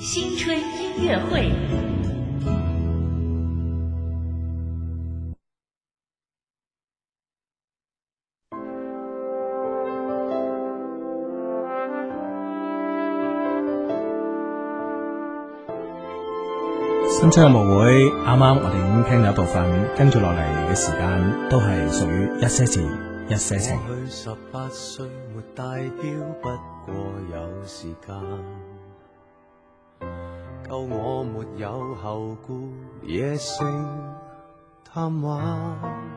新春音乐会。 新春音樂會啱啱我哋已經聽到一部分，跟住落嚟嘅時間都係屬於一些事一些情。 過去18歲沒帶錶，不過有時間夠我沒有後顧，野性貪玩。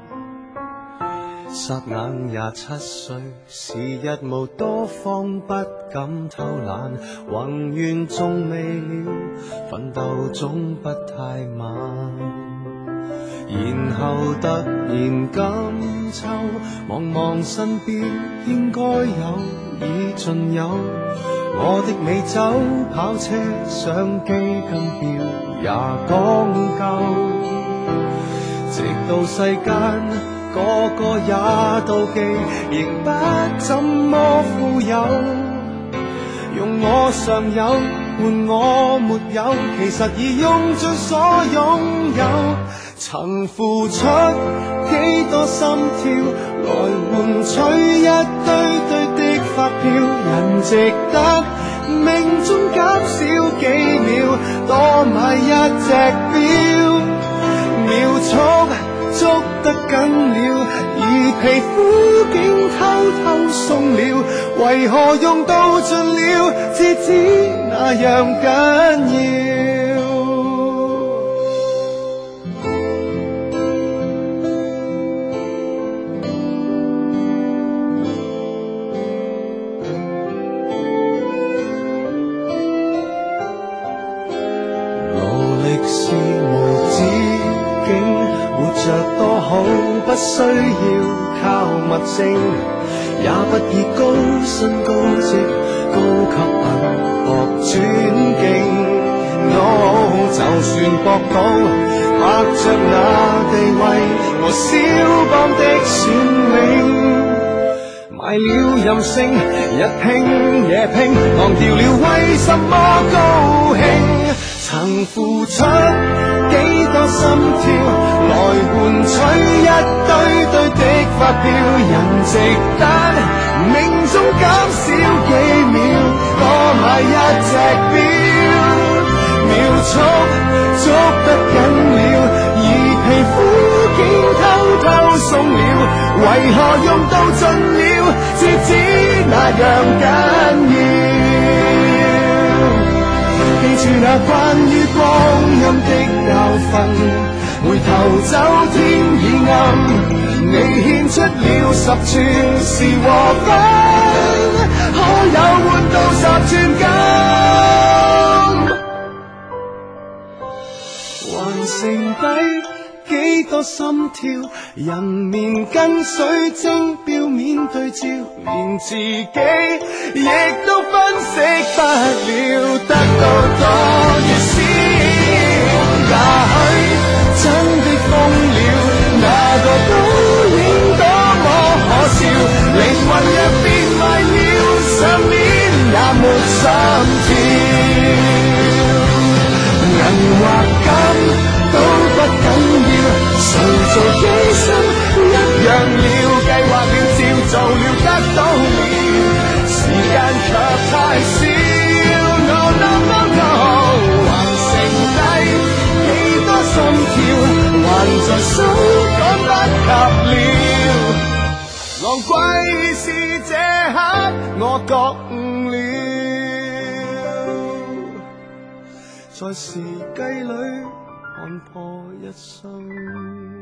霎眼27歲，時日無多方，不敢偷懶，宏願縱未了，奮鬥總不太晚。然後突然今秋，望望身邊應該有已盡有，我的美酒跑車相機金錶也講究，直到世間個個也妒忌，仍不怎麼富有。用我尚有換我沒有，其實已用盡所擁有。曾付出幾多心跳，來換取一堆堆的發票，人值得命中減少幾秒，多買一隻錶，秒速捉得緊了，而皮膚竟偷偷鬆了，為何用到盡了，至知那樣緊要。勞力是無止境，活着多好，不需要靠物證，也不以高薪高職高級品博尊敬。就算博到拍着那地位和蕭邦的雋永，賣了任性，日拼夜拼，忘掉了為什麼高興。曾付出幾多心跳，來換取一堆堆的發票，人值得命中減少幾秒，多買一隻錶，秒速捉得緊了，而皮膚竟偷偷鬆了，為何用到盡了，至知那樣緊要。記住那關於光陰的教訓，回頭走天已暗，你獻出了10寸是和分，可有換到10寸金？還剩低幾多心跳，人面跟水晶表面對照，連自己亦都分析不了，得到多與少，也許真的瘋了，那個倒影多麼可笑，靈魂若變壞了，上面也沒心跳，銀或金都不緊要，誰做犧牲一樣了，計劃了照做了得到了，時間卻太少。No no no no， 還剩低幾多心跳，還在手趕不及了，昂貴是這刻我覺悟了，在時計裏看破一生。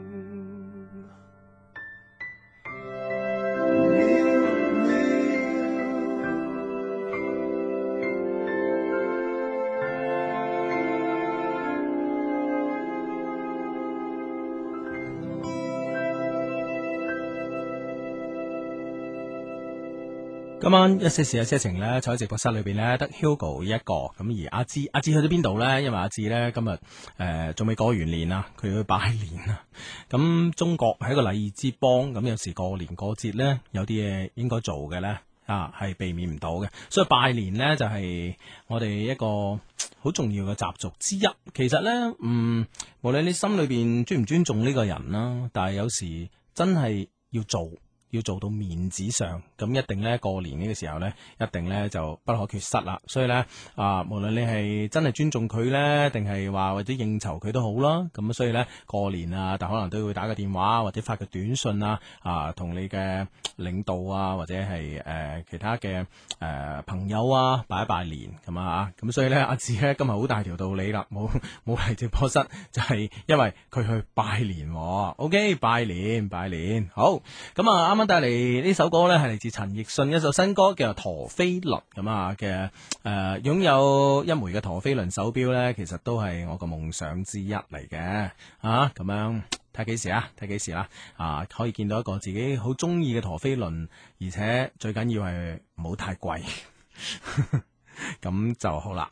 今晚一些事一些情咧，坐喺直播室裏邊咧，得 Hugo 一個，咁而阿芝去咗邊度咧？因為阿芝咧今日仲未過完年啊，佢要去拜年啊。咁中國係一個禮儀之邦，咁有時過年過節咧，有啲嘢應該做嘅咧， 係避免唔到嘅。所以拜年呢，就係我哋一個好重要嘅習俗之一。其實呢，無論你心裏邊尊唔尊重呢個人啦，但係有時真係要做到面子上，咁一定呢，過年呢個時候呢，一定呢就不可缺失啦。所以呢，無論你係真係尊重佢呢，定係話或者應酬佢都好啦。咁所以呢，過年啊，但可能都會打個電話或者發個短信啊，同你嘅領導啊或者係其他嘅朋友啊拜一拜年咁啊。咁所以呢，阿志呢今日好大條道理啦，冇嚟直播室，就係因為佢去拜年。OK， 拜年好。咁啱啱帶嚟呢首歌呢，係嚟自陳奕迅一首新歌，叫做陀飛輪咁啊嘅。擁有一枚嘅陀飛輪手錶呢，其實都係我個夢想之一嚟嘅。咁樣睇幾時啦，可以見到一個自己好中意嘅陀飛輪，而且最緊要係唔好太貴，咁就好啦。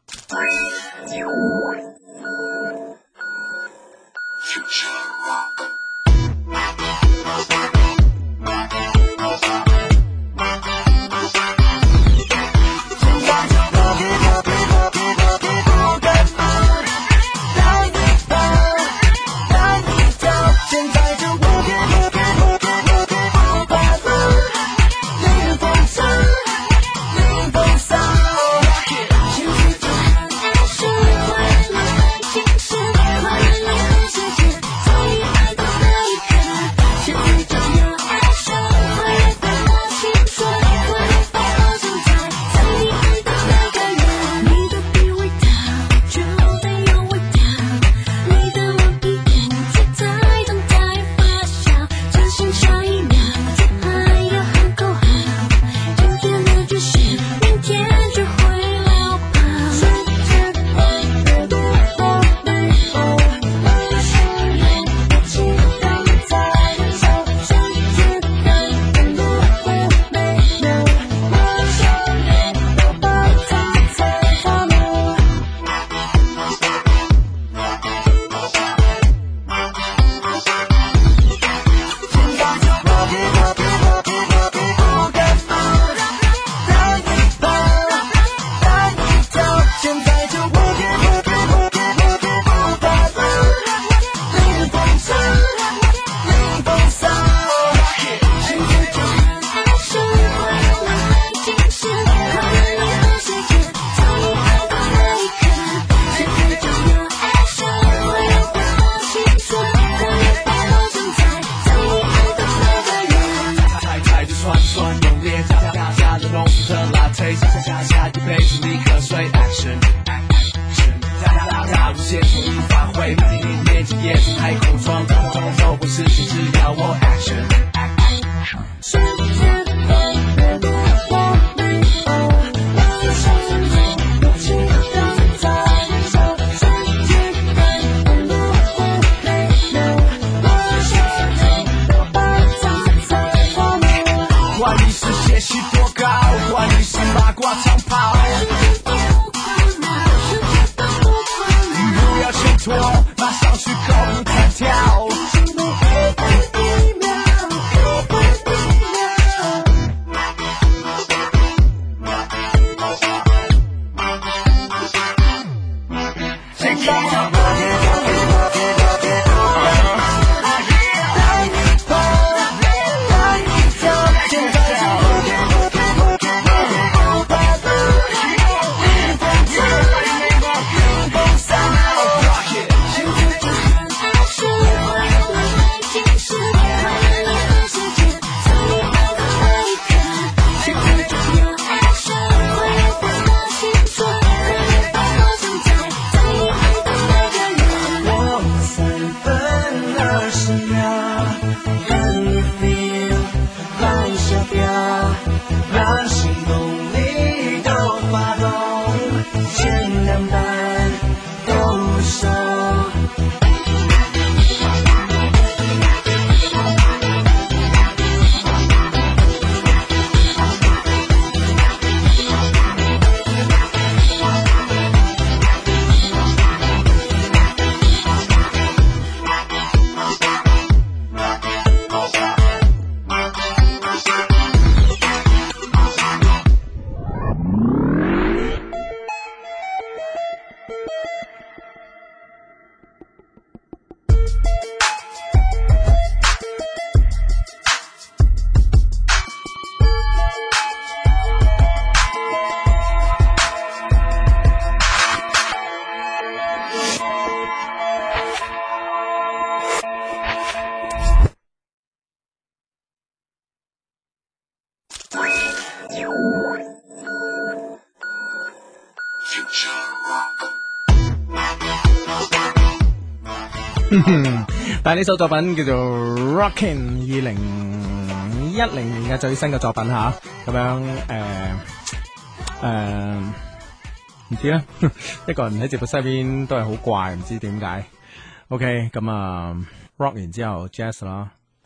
但係呢首作品叫做 Rockin'， 2010年嘅最新嘅作品吓，咁樣唔知咧，一個人喺直播室邊都係好怪，唔知點解。OK， 咁啊 rock 完之後 jazz 啦。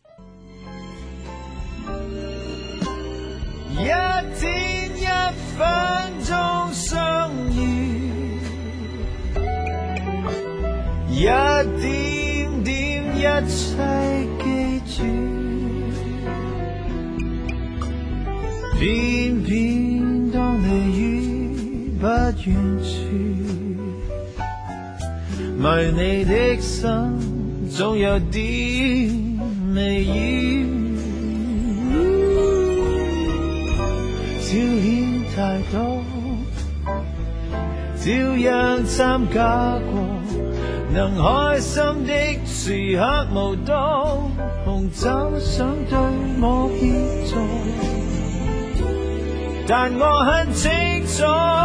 一天一分鐘相遇，一點點一切記住，偏偏當你於不遠處，迷你的心總有啲微雨，消遣太多，照樣參加過，能開心的時刻無多，紅酒想對我協助，但我很清楚，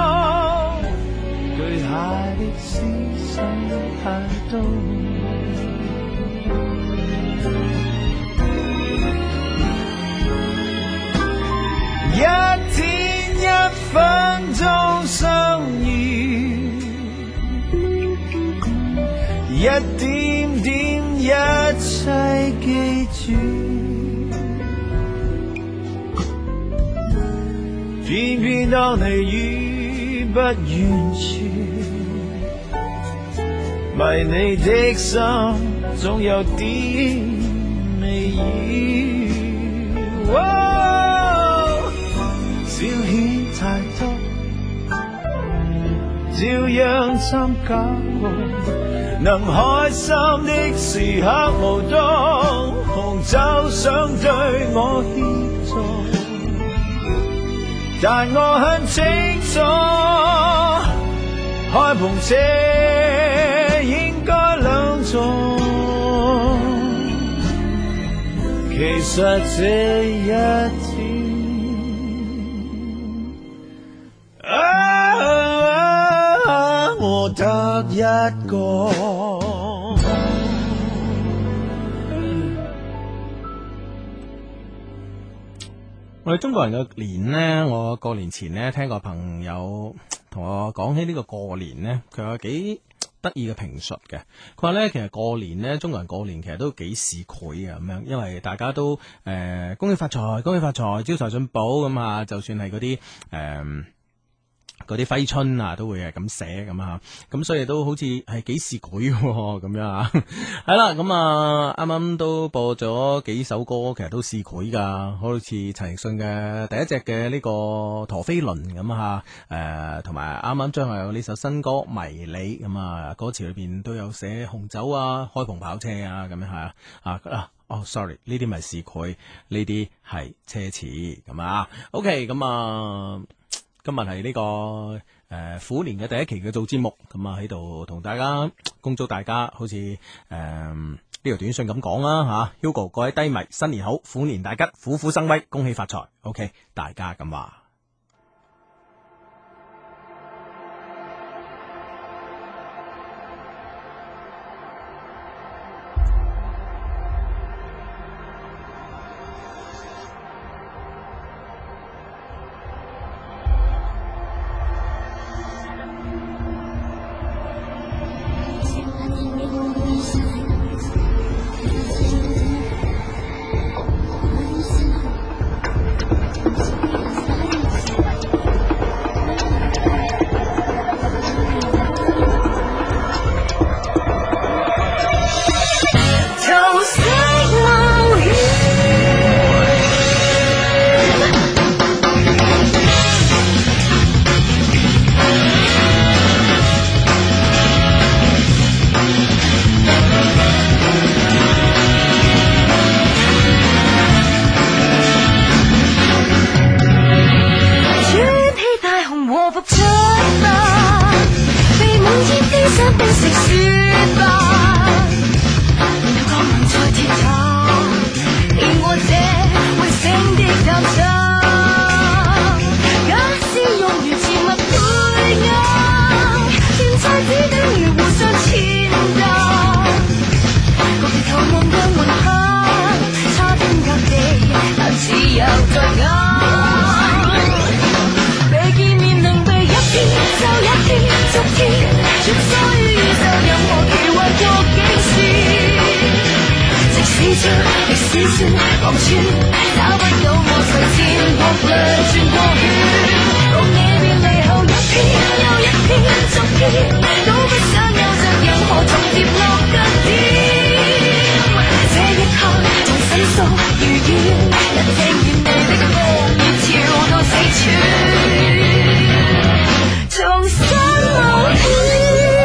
巨蟹的思想太多。一天一分鐘相遇，一點點一切記住，偏偏當你於不遠處，迷你的心總有啲微雨。消遣太多，照樣參加過，能開心的時刻無多，紅酒想對我協助，但我很清楚，開篷車應該兩座，其實這一天我得一個。 我哋中國人嘅年呢，我過年前呢聽個朋友同我講起呢個過年呢，佢有幾得意嘅評述嘅。佢話呢，其實過年呢，中國人過年其實都幾市儈嘅咁樣，因為大家都恭喜發財，恭喜發財，招財進寶咁啊，就算係嗰啲嗰啲揮春啊，都會係咁寫咁啊，咁所以都好似係幾市儈咁樣啊。係啦，咁啊，啱啱都播咗幾首歌，其實都市儈噶，好似陳奕迅嘅第一隻嘅呢個陀飛輪咁啊，同埋啱啱將來有呢首新歌《迷你》咁啊，歌詞裏邊都有寫紅酒啊、開篷跑車啊咁樣係sorry， 呢啲咪市儈，呢啲係奢侈咁啊。OK， 咁啊。今日係呢個虎年嘅第一期嘅做節目，咁啊喺度同大家恭祝大家好似呢條短信咁講啦吓 ，Hugo 各位低迷新年好，虎年大吉，虎虎生威，恭喜發財。OK， 大家咁話。 着歷史說望穿，找不到我誰戰國掠轉過圈，共你別離後一篇又一篇續篇，都不想有着任何重疊落腳點。這一刻像細數如願，一聽見你的風雨潮到四處，重新冒險。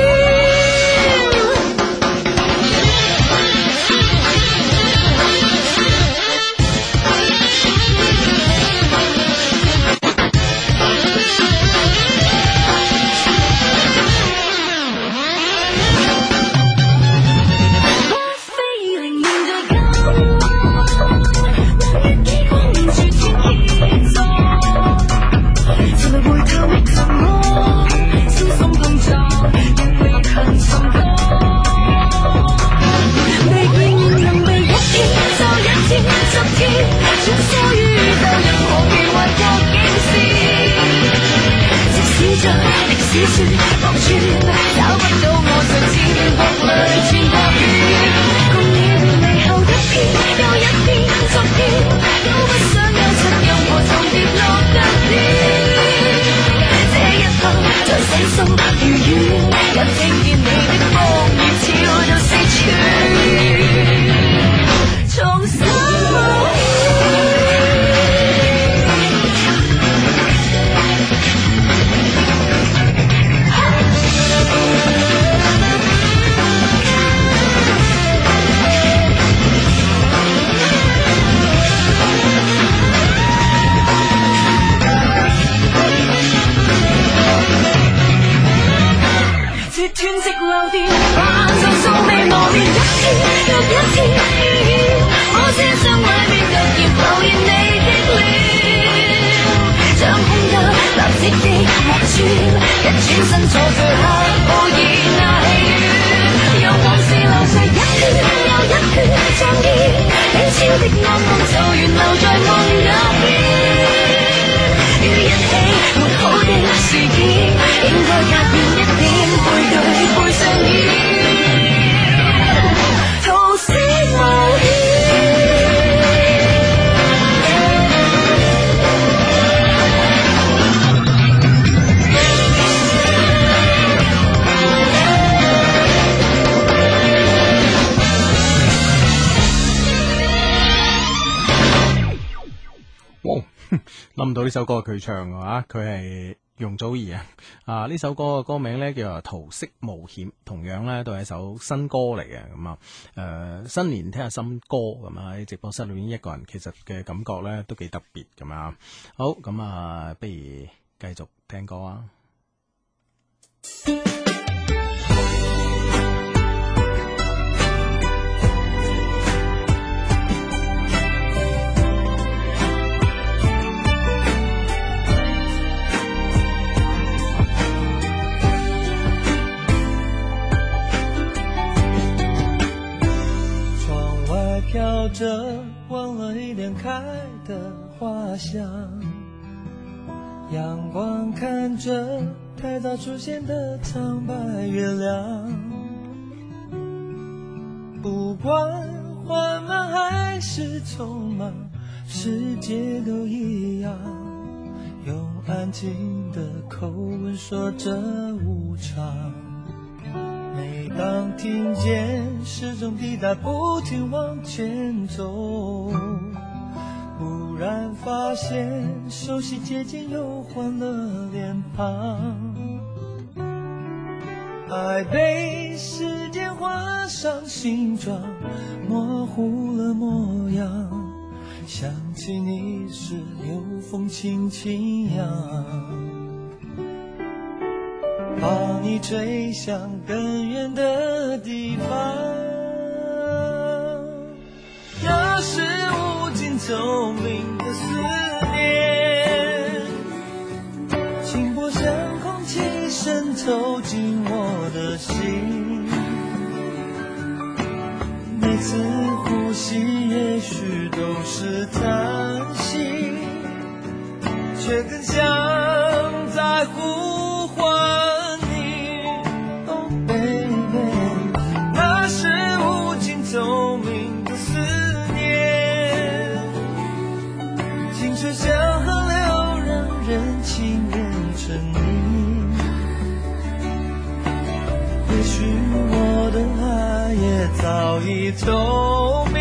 諗唔到呢首歌係佢唱嘅話，佢係容祖兒啊！呢首歌嘅歌名呢叫做《桃色冒險》，同樣呢都係一首新歌嚟嘅。咁啊，新年聽下新歌咁啊，喺直播室裏面一個人，其實嘅感覺呢都幾特別咁啊。好，咁啊，不如繼續聽歌啊！ 飘着忘了一年开的花香，阳光看着太早出现的苍白月亮，不管缓慢还是匆忙，世界都一样，用安静的口吻说着无常。每当听见时钟滴答不停往前走，忽然发现熟悉接近又换了脸庞，爱被时间画上形状，模糊了模样，想起你时有风轻轻扬，把你吹向更远的地方，那是无尽透明的思念，轻薄像空气渗透进我的心，每次呼吸也许都是叹息，却更像在呼唤透明的思早已透明，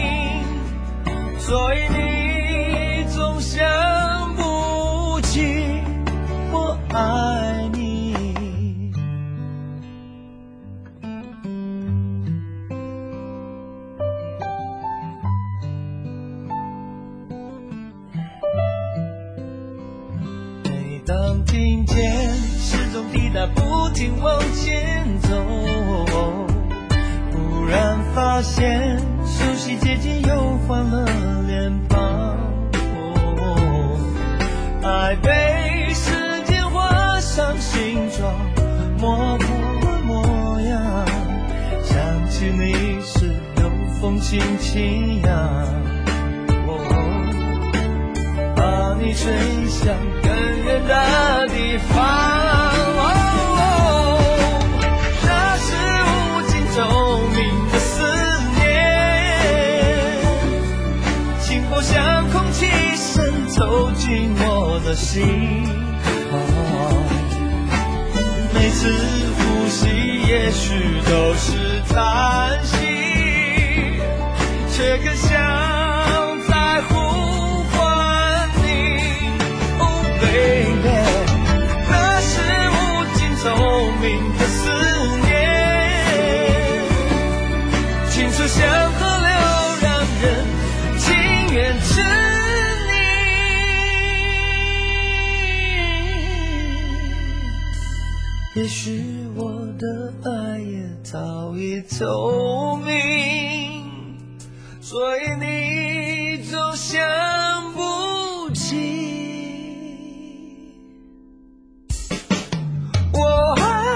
所以你总想不起我爱你。每当听见时钟滴答不停往前走，忽然发现熟悉街景又换了脸庞，爱被时间画上形状，模糊模样，想起你时有风轻轻扬，把你吹向更远的地方。那是无尽透明的思念，轻薄像空气渗透进我的心。每次呼吸也许都是叹息，却更像在呼唤你。Oh baby， 那是无尽透明的思念，清澈像河流，让人情愿执你。也许我的爱也早已透明，所以你总想不起我爱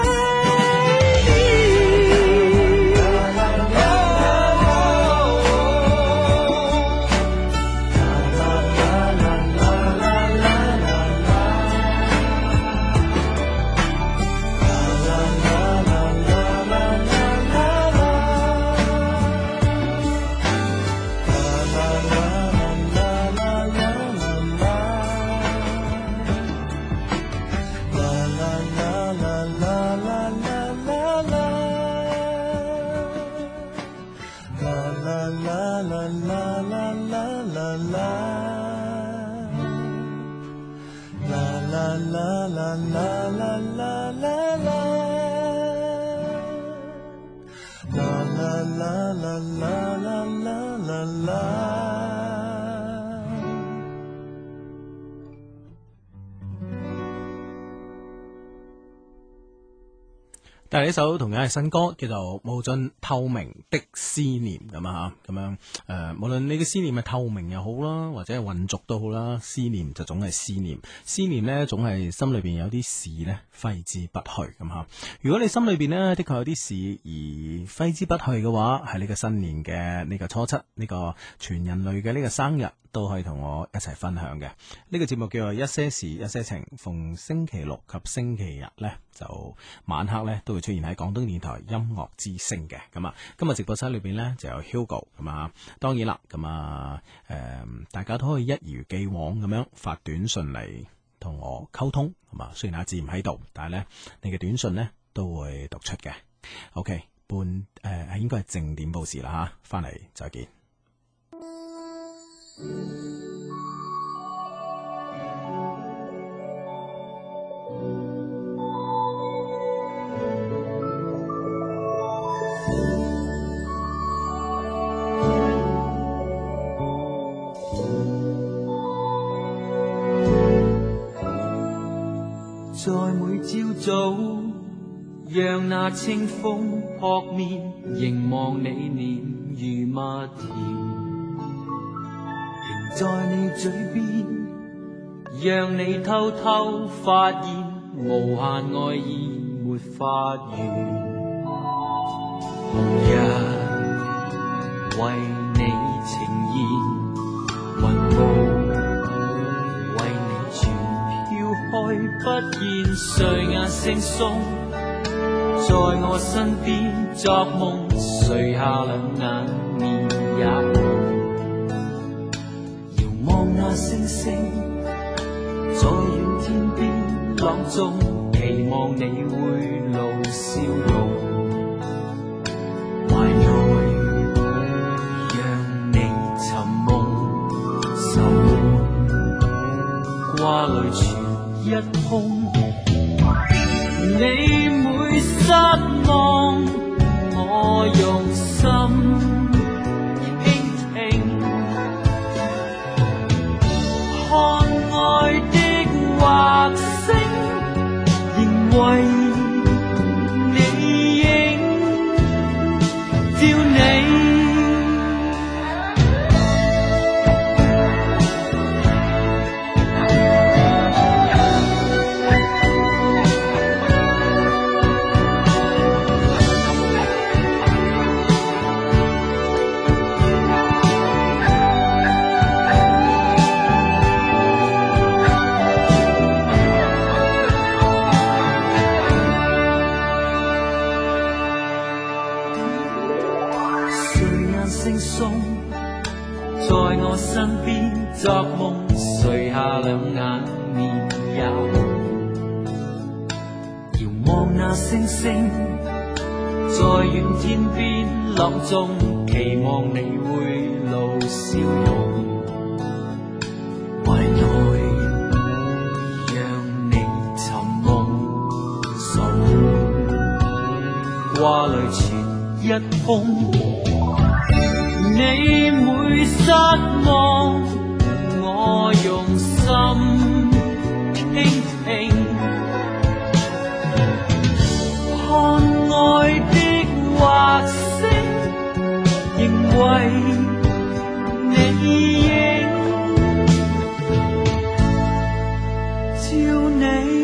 但係呢首同樣係新歌，叫做《無盡透明的思念》咁啊，咁樣無論你嘅思念係透明又好啦，或者係渾濁都好啦，思念就總係思念，思念呢總係心裏邊有啲事呢揮之不去咁吓。如果你心裏邊呢的確有啲事而揮之不去嘅話，喺呢個新年嘅呢個初七，呢個全人類嘅呢個生日，都可以同我一齊分享嘅。呢個節目叫做一些事一些情，逢星期六及星期日呢，就晚黑呢都會出現喺廣東電台音樂之聲嘅。咁啊，今日直播室裏邊呢就有 Hugo 咁啊，當然啦，咁啊大家都可以一如既往咁樣發短信嚟同我溝通，係嘛？雖然阿志唔喺度，但係呢，你嘅短信呢都會讀出嘅。OK， 應該係正點報時啦吓，翻嚟再見。 在每朝早，讓那清風撲面，凝望你臉如蜜甜，停在你嘴邊，讓你偷偷發現，無限愛意沒發完。紅日為你呈現，雲霧為你全飄開，不見誰眼惺忪，在我身邊作夢，垂下兩眼面也遙望那星星，在遠天邊朗誦，期望你會露笑容，懷內淚全一空。你每失望，我用心傾聽，看愛的畫星，仍為你影照你。在我身邊作夢，垂下兩眼面有，遙望那星星，在遠天邊朗誦，期望你會露笑容，懷內讓你尋夢送，掛淚全一空。你每失望，我用心傾聽，看愛的畫星，仍為你影照你。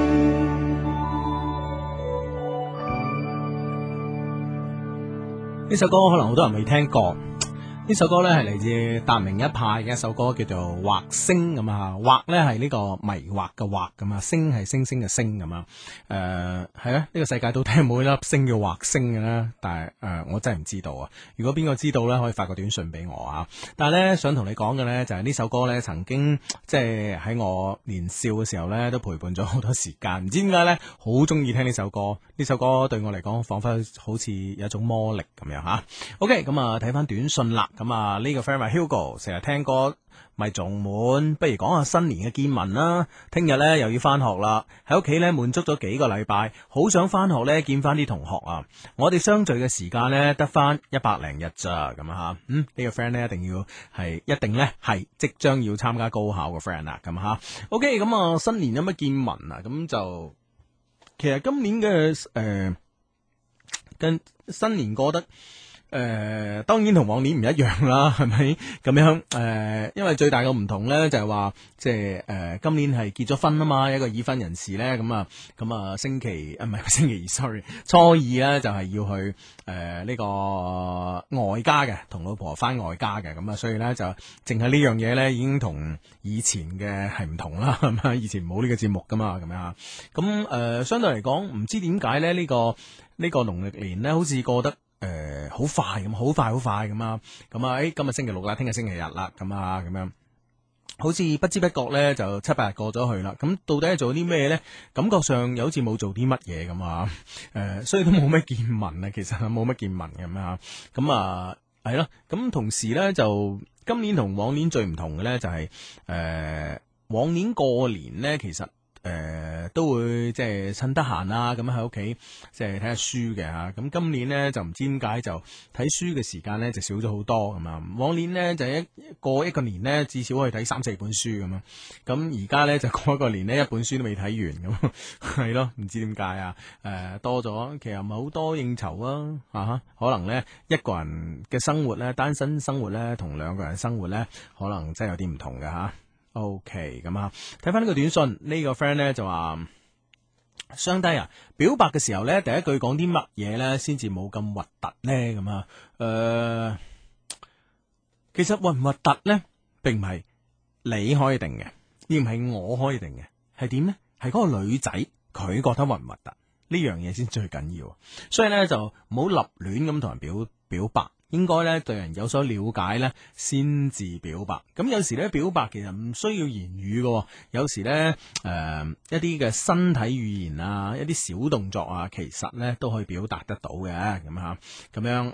呢首歌可能好多人未聽過。呢首歌咧係嚟自達明一派嘅一首歌，叫做《惑星》咁啊，惑咧係呢個迷惑嘅惑咁啊，星係星星嘅星咁啊，係啊，呢個世界都聽冇一粒星叫惑星嘅啦，但係我真係唔知道啊！如果邊個知道咧，可以發個短信俾我啊！但係咧想同你講嘅咧就係呢首歌咧曾經即係喺我年少嘅時候咧都陪伴咗好多時間，唔知點解咧好中意聽呢首歌，呢首歌對我嚟講彷彿好似有一種魔力咁樣吓。OK， 咁啊睇翻短信啦。咁啊呢個 friend 話 Hugo 成日聽歌咪仲悶，不如講下新年嘅見聞啦。聽日呢又要翻學啦，喺屋企呢滿足咗幾個禮拜，好想翻學呢見翻啲同學啊。我哋相聚嘅時間呢得翻100零日咋咁啊吓。呢個 friend 呢一定呢係即將要參加高考嘅 friend 啦咁吓。OK， 咁啊新年有乜見聞啊？咁就其實今年嘅跟新年過得當然同往年唔一樣啦，係咪咁樣？因為最大嘅唔同咧就係話，即係今年係結咗婚啊嘛，一個已婚人士咧，咁啊星期二 ，sorry， 初二咧就係要去呢個外家嘅，同老婆翻外家嘅，咁啊，所以咧就淨係呢樣嘢咧已經同以前嘅係唔同啦，係咪？以前冇呢個節目噶嘛，咁樣咁相對嚟講，唔知點解咧呢個農曆年咧好似過得好快咁，好快咁啊！咁啊，今日星期六啦，聽日星期日啦，咁啊，咁樣，好似不知不覺咧就7-8日過咗去啦。咁到底係做啲咩咧？感覺上又好似冇做啲乜嘢咁啊！所以都冇咩見聞啊，其實冇乜見聞咁啊。咁啊，係咯。咁同時咧就今年同往年最唔同嘅咧就係往年過年咧其實。都會即係趁得閒啦，咁喺屋企即係睇下書嘅吓。咁今年呢，就唔知點解就睇書嘅時間呢就少咗好多咁啊。往年呢，就過一個年呢，至少可以睇3-4本書咁啊。咁而家呢，就過一個年呢，一本書都未睇完咁，係咯，唔知點解啊？多咗，其實唔係好多應酬啊，可能呢，一個人嘅生活呢，單身生活呢，同兩個人生活呢，可能真係有啲唔同嘅吓。OK， 咁啊，睇翻呢個短信，呢個 friend 咧就話，雙低啊，表白嘅時候咧，第一句講啲乜嘢咧，先至冇咁核突咧？咁啊，其實核唔核突咧，並唔係你可以定嘅，亦唔係我可以定嘅，係點咧？係嗰個女仔佢覺得核唔核突呢樣嘢先最緊要，所以咧就唔好立亂咁同人表白。應該咧對人有所了解咧，先至表白。咁有時咧表白其實唔需要言語嘅，有時咧一啲嘅身體語言啊，一啲小動作啊，其實咧都可以表達得到嘅。咁吓，咁樣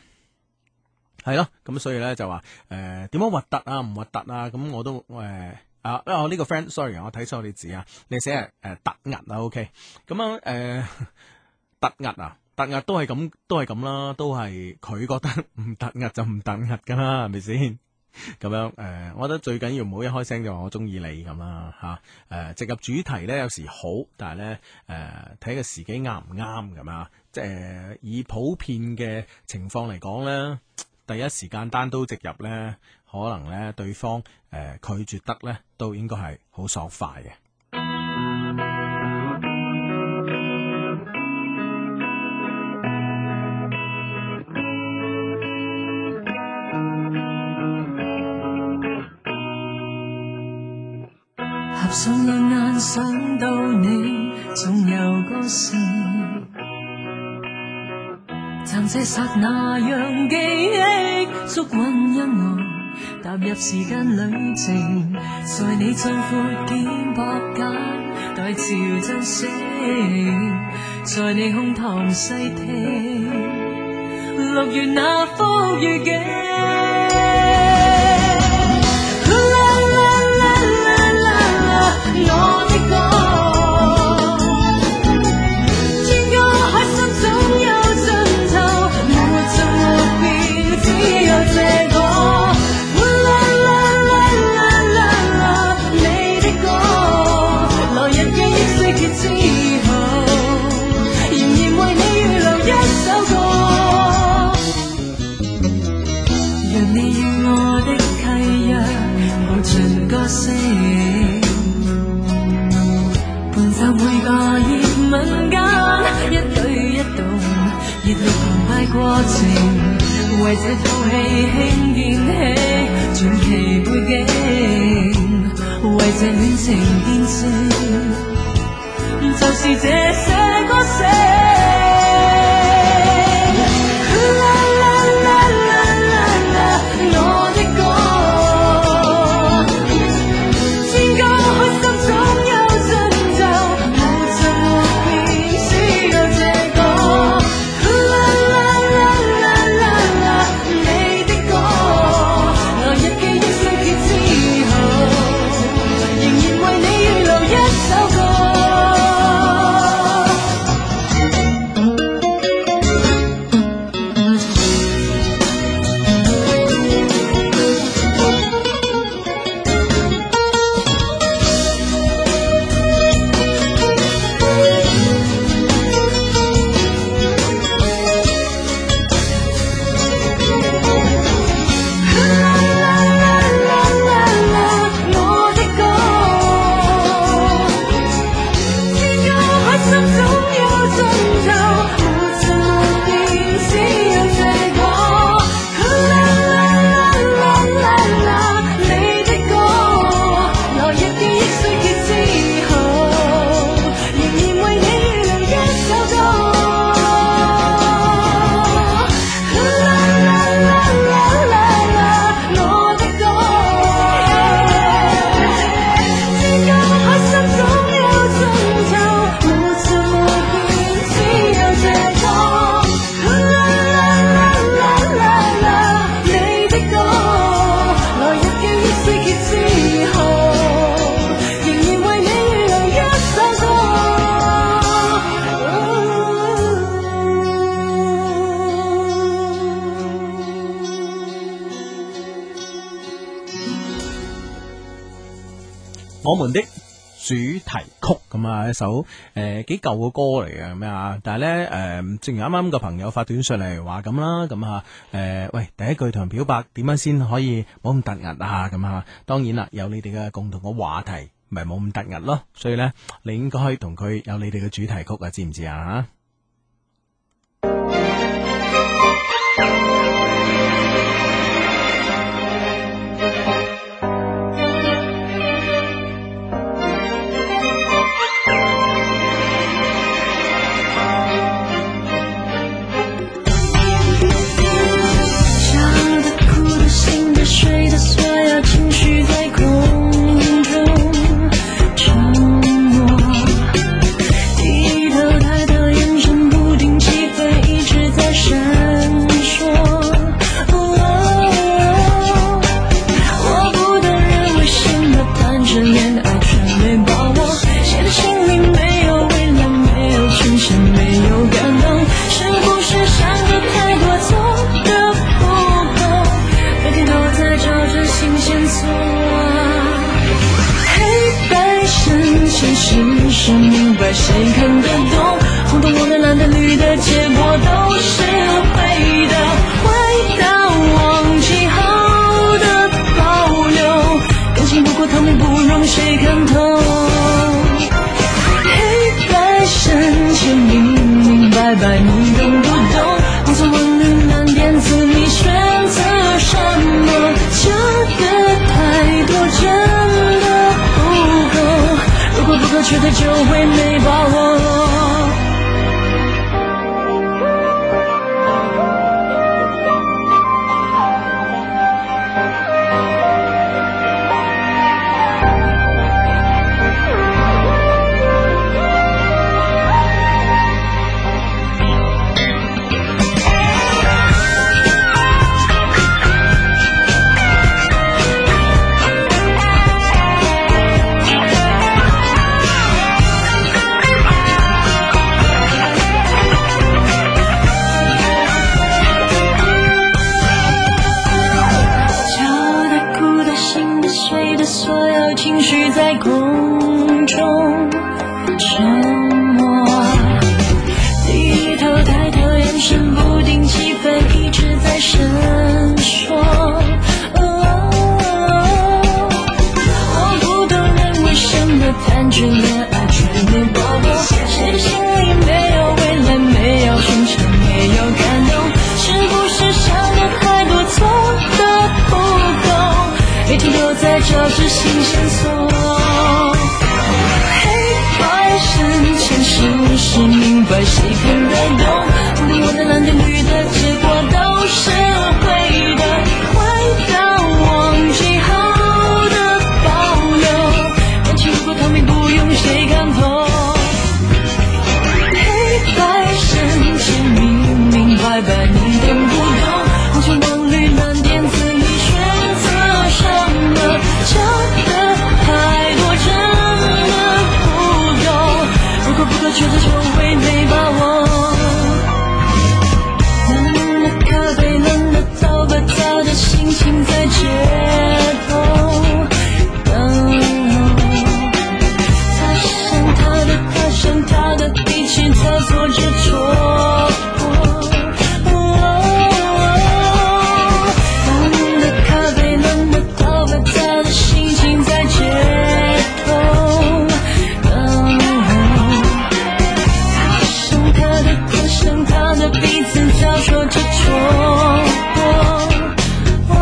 係咯。咁所以咧就話點樣核突啊，唔核突啊？咁我都啊，我呢個 friend，sorry， 我睇錯你字啊，你寫係突兀啊 ，OK， 咁樣突兀啊，突兀都係咁啦，都係佢覺得唔突兀就唔突兀噶啦，係咪先？咁樣我覺得最緊要唔好一開聲就話我中意你咁啦吓，直入主題咧有時好，但係咧睇個時機啱唔啱咁啊，即係以普遍嘅情況嚟講咧，第一時間單刀直入咧，可能咧對方拒絕得咧都應該係好爽快嘅。 合上兩眼想到你，總有個神，暫這剎那讓記憶捉穩音樂，踏入時間旅程，在你壯闊肩膊間，待潮漲醒，在你胸膛細聽6月那幅雨景。我的歌，天高海深總有盡頭，沒盡沒邊，只有這個。你的歌，來日記憶碎結之後，仍然為你預留一首歌。若你與我的契約，無盡歌聲。就每個熱吻間，一舉一動，熱烈澎湃過程，為這套戲輕建起傳奇背景，為這戀情見證，就是這些歌聲。我的歌，天高海深總有盡頭。 我們的主題曲咁啊，一首幾舊嘅歌嚟嘅咁啊，但係咧正如啱啱個朋友發短信嚟話咁啦，咁啊喂，第一句同人表白點樣先可以冇咁突兀啊？咁啊，當然啦，有你哋嘅共同嘅話題，咪冇咁突兀咯。所以咧，你應該同佢有你哋嘅主題曲啊，知唔知啊？ 水的所有情緒在空中沉默，低頭抬頭眼现实是明白谁看得懂，红的黄的蓝的绿的，结果都是会的，回到忘记后的保留，感情不过透明不容谁看透，黑白深浅明明白白你懂不懂，红橙黄绿蓝靛紫你选择什么，这个太多真的不够，如果不可取的就会没把握。情绪在空中沉默，低头抬头，眼神不定，气氛一直在伸缩。我不懂人为什么谈着恋爱却没把握，谁心里没有未来，没有寻常，没有感动，是不是想的太多，做的不够，没停留在找着新线索，黑白深浅是是明白谁看得懂，红的黄的蓝的绿的，结果都是会的，回到忘记后的保留，感情如果透明不用谁看透，黑白深浅明明白白你懂不懂，红橙黄绿蓝靛紫你选择什么，这个太多真的不够，如果不可抉择就会没把握，冷的咖啡，冷的头发，他的心情在街头等他想他的，他想他的，比起他做着戳破，冷的咖啡，冷的头发，他的心情在街头等他想他的，他想他的，彼此交错着戳破，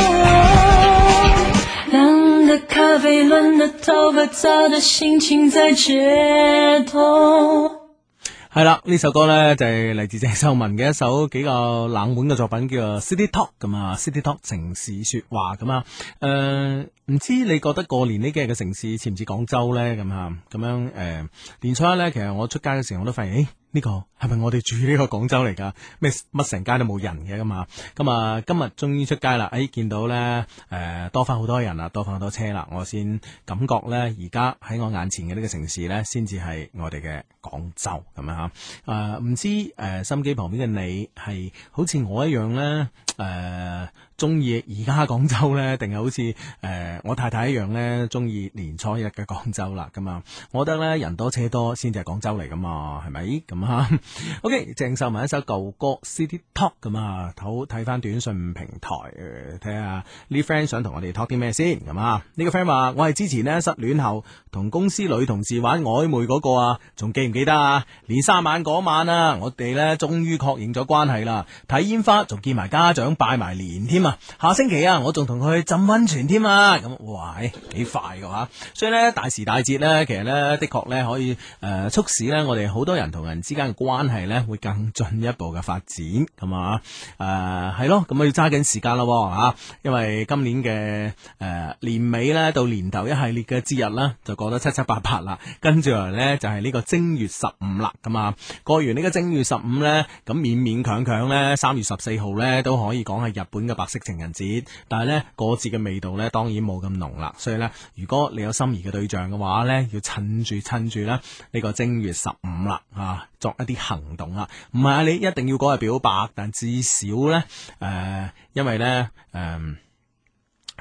冷的咖啡，冷的头发，他的心情在街頭。 係啦，呢首歌呢就係嚟自鄭秀文嘅一首比較冷門嘅作品，叫做 City Talk 咁啊 ，City Talk 城市說話咁啊。唔知你覺得過年呢幾日嘅城市似唔似廣州呢？咁啊，咁樣年初一呢，其實我出街嘅時候我都發現，呢個係咪我哋住呢個廣州嚟㗎？咩乜成街都冇人嘅咁啊？咁啊，今日終於出街啦！見到咧多翻好多人啦，多翻好多車啦，我先感覺咧，而家喺我眼前嘅呢個城市咧，先至係我哋嘅廣州咁樣嚇。唔知心機旁邊嘅你係好似我一樣咧中意而家廣州咧，定係好似我太太一樣咧，中意年初一嘅廣州啦咁啊？我覺得咧，人多車多先至係廣州嚟噶嘛，係咪咁啊？OK， 鄭秀文一首舊歌 City Talk 咁啊，睇翻短信平台睇下呢 friend 想同我哋 talk 啲咩先咁啊？呢個 friend 話我係之前呢失戀後同公司女同事玩曖昧嗰個啊，仲記唔記得啊？年三晚嗰晚啊，我哋咧終於確認咗關係啦，睇煙花仲見埋家長拜埋年添啊！下星期啊，我仲同佢去浸溫泉添啊！咁哇，幾快㗎吓！所以咧大時大節咧，其實咧的確咧可以促使咧我哋好多人同人之間嘅關係咧會更進一步嘅發展咁啊！係咯，咁我要揸緊時間咯吓，因為今年嘅年尾咧到年頭一系列嘅節日啦，就過得七七八八啦，跟住嚟咧就係呢個正月15啦，咁啊過完呢個正月15咧，咁勉勉強強咧3月14號咧都可以講係日本嘅白色情人節，但係咧過節嘅味道咧當然冇咁濃啦，所以咧如果你有心儀嘅對象嘅話咧，要趁住咧呢個正月15啦作一啲行動啦，唔係你一定要嗰日表白，但至少咧因為咧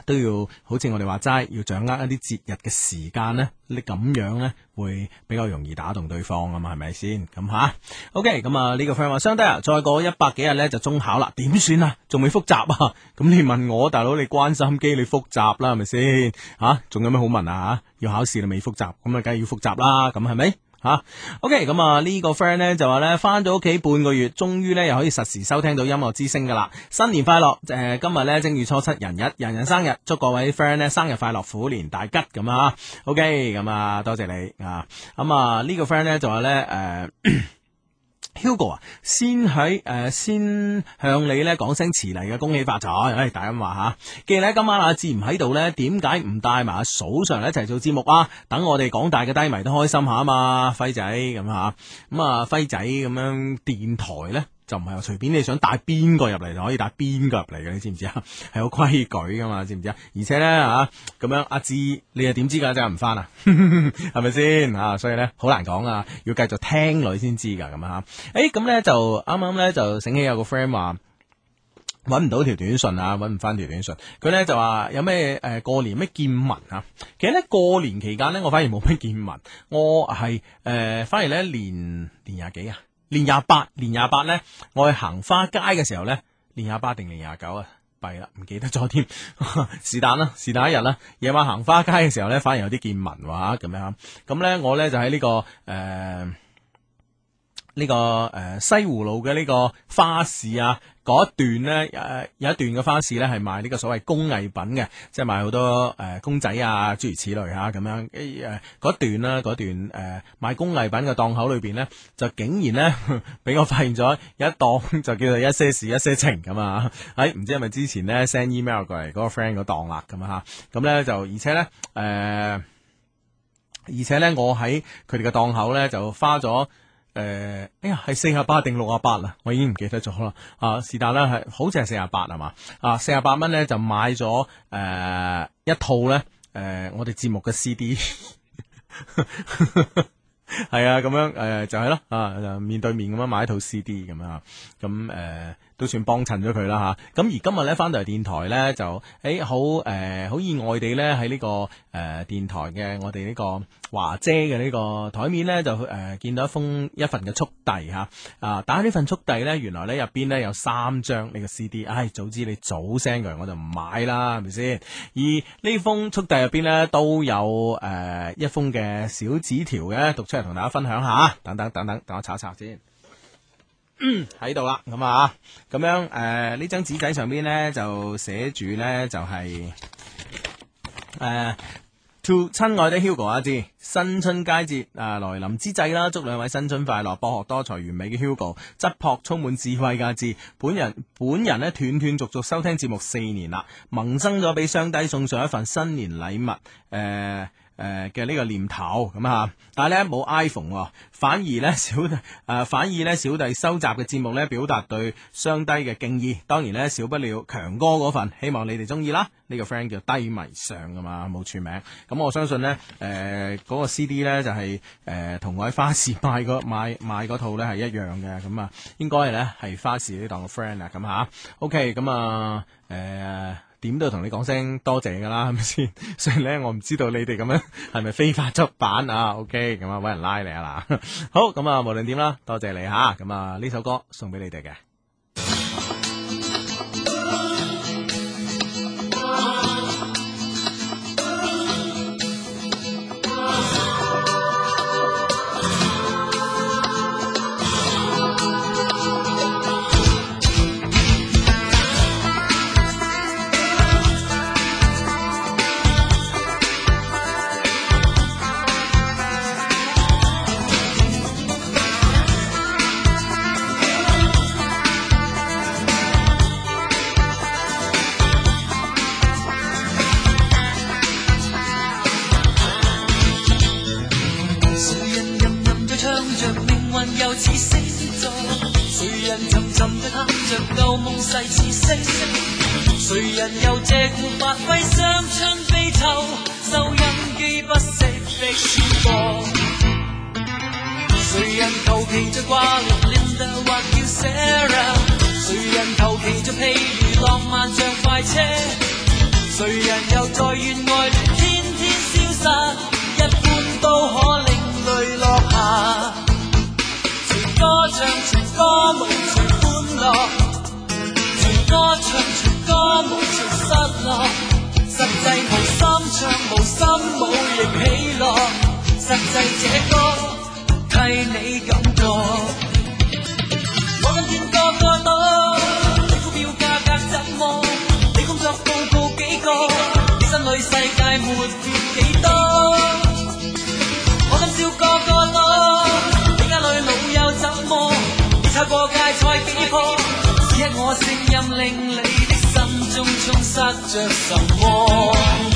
都要好似我哋話齋，要掌握一啲節日嘅時間咧，你咁樣咧會比較容易打動對方啊嘛，係咪先？咁吓 ，OK， 咁啊呢個 friend 話，相低啊，再過100幾日咧就中考啦，點算啊？仲未複習啊？咁你問我大佬，你關心機，你複習啦，係咪先？吓，仲有咩好問啊？要考試你未複習，咁啊梗係要複習啦，咁係咪？OK， 咁啊呢個 friend 咧就話咧翻咗屋企半個月，終於咧又可以實時收聽到音樂之聲噶啦。新年快樂！今日咧正月初七人日，人人生日，祝各位 friend 咧生日快樂，虎年大吉咁啊 ！OK， 咁啊多謝你啊！咁啊呢個 friend 咧就話咧Hugo 啊，先向你咧講聲遲嚟嘅恭喜發財，大家咁話吓。既然咧今晚阿志唔喺度咧，點解唔帶埋阿嫂上嚟一齊做節目啊？等我哋廣大嘅低迷都開心下啊嘛，輝仔咁吓。咁啊輝仔咁樣電台咧就唔係話隨便你想帶邊個入嚟就可以帶邊個入嚟嘅，你知唔知啊？係有規矩噶嘛，知唔知啊？而且咧咁樣阿志你又點知噶？真係唔翻啊？係咪先啊？所以咧好難講啊，要繼續聽女先知噶咁啊！咁咧就啱啱咧就醒起有個 friend 話搵唔到條短信啊，搵唔翻條短信。佢咧就話有咩過年咩見聞啊？其實咧過年期間咧我反而冇咩見聞，我係反而咧年廿幾啊？年廿八咧，我去行花街嘅時候咧，年廿八定年廿九啊？弊啦，唔記得咗添。是但啦，是但一日啦。夜晚行花街嘅時候咧，反而有啲見聞話咁樣。咁咧，我咧就喺呢個西湖路嘅呢個花市啊，嗰一段咧有一段嘅花市咧係賣呢個所謂工藝品嘅，即係賣好多公仔啊諸如此類吓咁樣。嗰段賣工藝品嘅檔口裏邊咧，就竟然咧俾我發現咗有一檔就叫做一些事一些情咁啊！唔知係咪之前咧 send email 過嚟嗰個 friend 嗰檔啦咁啊吓，咁咧就而且咧我喺佢哋嘅檔口咧就花咗。係48定68啦，我已經唔記得咗啦。是但啦，係好似係48係嘛？48蚊咧就買咗一套咧我哋節目嘅 CD， 係啊咁樣就係咯面對面咁樣買一套 CD 咁樣咁都算幫襯咗佢啦吓。咁而今日咧翻到嚟電台咧就好意外地咧喺呢個電台嘅我哋呢個華姐嘅呢個台面咧就見到一份嘅速遞吓打呢份速遞咧原來咧入邊咧有3張呢個 CD， 早知你早 send 佢我就唔買啦係咪先？而呢封速遞入邊咧都有一封嘅小紙條嘅，讀出嚟同大家分享下，等我查一查先。喺度啦，咁咁樣呢張紙仔上邊咧就寫住咧就係To 親愛的 Hugo 阿志，新春佳節來臨之際啦，祝兩位新春快樂，博學多才完美嘅 Hugo， 質樸充滿智慧嘅阿志，本人咧斷續續收聽節目4年啦，萌生咗俾雙低送上一份新年禮物嘅呢個念頭咁但係咧冇 iPhone，反而咧小弟收集嘅節目咧表達對雙低嘅敬意，當然咧少不了強哥嗰份，希望你哋中意啦。呢個 friend 叫低迷上噶嘛，冇署名，咁我相信咧嗰個 CD 咧就係同我喺花市賣嗰套咧係一樣嘅，咁應該咧係花市呢檔嘅 friend 啊，咁OK，咁點都同你講聲多謝噶啦，係咪先？所以咧，我唔知道你哋咁樣係咪非法出版啊 ？OK，咁搵人拉你啊嗱。好，咁無論點啦，多謝你吓。咁呢首歌送俾你哋嘅。 誰人又借故發揮雙春悲秋，收音機不息的轉播。誰人求其着掛念 Linda 或叫 Sarah， 誰人求其着譬如浪漫像快車。 誰人又在怨愛戀天天消失，一般都可令淚落下。隨歌唱隨歌舞隨歡樂，隨歌唱隨歌舞隨失落，實際無心唱無心舞亦喜樂，實際這歌替你感覺。我今天個個都，你股票價格怎麼？你工作報告幾個？你心裏世界沒變幾多？我今宵個個都，你家裏老友怎麼？你踩過界菜幾顆？此刻我聲音令你的心中充塞着什麼？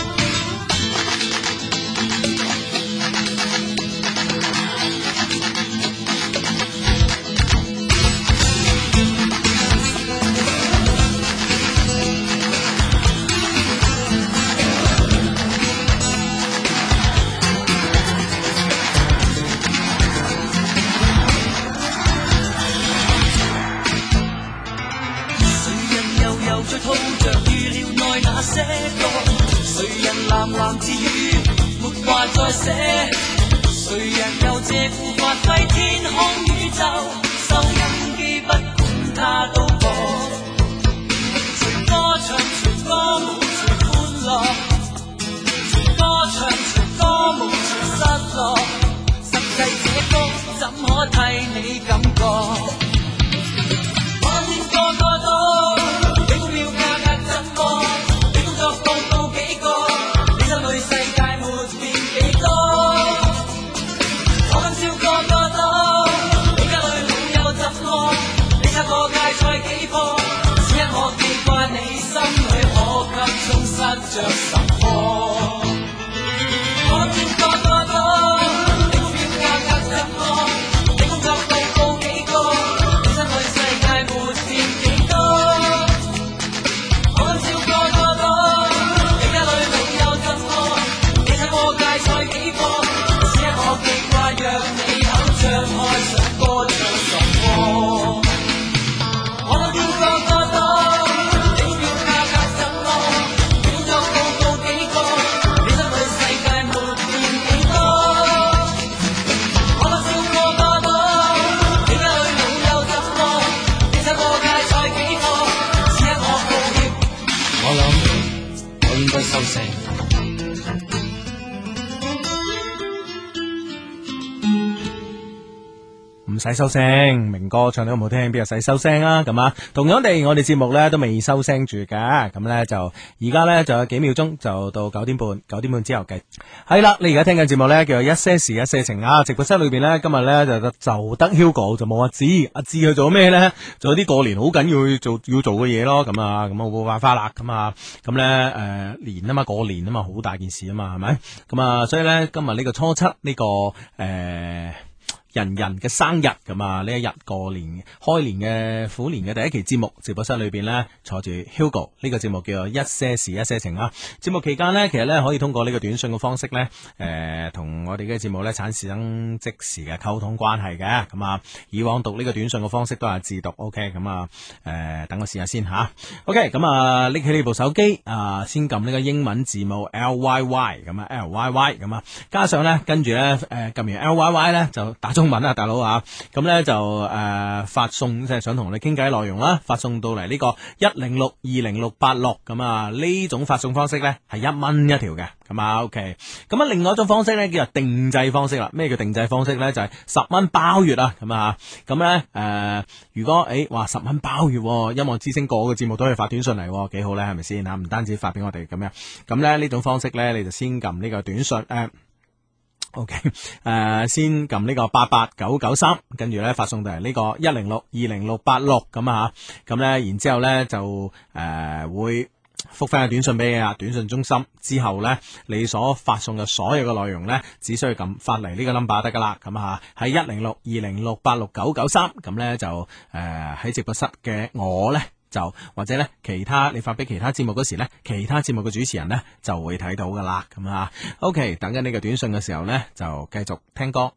喃喃自語，沒話再寫。誰人又借故發揮天空宇宙？收音機不管它都播。隨歌唱隨歌舞隨歡樂，隨歌唱隨歌舞隨失落。實際這歌怎可替你感覺？我見個個都，你股票價格怎麼？你工作報告幾個？世界沒變幾多？我今宵個個都，你家裏老友怎麼？你拆過界菜幾顆？此刻我記掛你心裏可給充塞着什麼？我見個個都，你股票價格怎麼？你工作報告幾個？你心裏世界沒變幾多？我今宵個個都，你家裏老友怎麼？過界菜幾顆？此刻我記掛，讓你口張開想歌唱什麼？我見個個都，你股票價格怎麼？你工作報告幾個？你心裏世界沒變幾多？我笑個個都，你家裏老友怎麼？你拆過界菜幾顆？此刻我告歉，我諗我應該收聲。 唔使收聲，明哥唱得好唔好聽，邊有使收聲啊？咁啊，同樣地，我哋節目咧都未收聲住嘅，咁咧就而家咧就有幾秒鐘就到9點半，9點半之後計。係啦，你而家聽緊節目咧叫做一些事一些情啊，直播室裏邊咧今日咧就得 Hugo 就冇阿志去做咩咧？做啲過年好緊要做嘅嘢咯，咁啊冇辦法啦，咁咧年啊嘛，過年啊嘛，好大件事啊嘛，係咪？咁啊，所以咧今日呢個初七呢個人嘅生日咁啊！呢一日過年開年嘅虎年嘅第一期節目，直播室裏邊呢，坐住 Hugo， 呢個節目叫做一些事一些情啊！節目期間呢，其實呢，可以通過呢個短信嘅方式呢，同我哋嘅節目呢產生即時嘅溝通關係嘅。咁啊，以往讀呢個短信嘅方式都係自讀 ，OK？ 咁啊，等我試下先吓 OK？ 咁啊，拎起呢部手機啊，先撳呢個英文字母 LYY 咁啊 ，LYY 咁啊，加上呢，跟住呢，撳完 LYY 呢，就打中文啊，大佬啊，咁咧就發送即係想同我哋傾偈內容啦，發送到嚟呢個1062086咁啊，呢種發送方式咧係1蚊一條嘅，咁啊 OK， 咁啊另外一種方式咧叫做定制方式啦。咩叫定制方式咧？就係10蚊包月啊，咁啊，咁咧如果話10蚊包月，音樂之聲個個節目都可以發短信嚟，幾好咧，係咪先啊？唔單止發俾我哋咁樣，咁咧呢種方式咧，你就先撳呢個短信OK， 先撳呢個88993，跟住咧發送到嚟呢個1062086咁啊，咁咧然之後咧就會覆翻個短信俾你啊，短信中心之後咧，你所發送嘅所有嘅內容咧，只需要撳發嚟呢個 number 得噶啦，咁啊喺10620686993，咁咧就喺直播室嘅我咧。就或者咧，其他你發俾其他節目嗰時咧，其他節目嘅主持人咧就會睇到噶啦，咁啊 ，OK， 等緊呢個短信嘅時候咧，就繼續聽歌。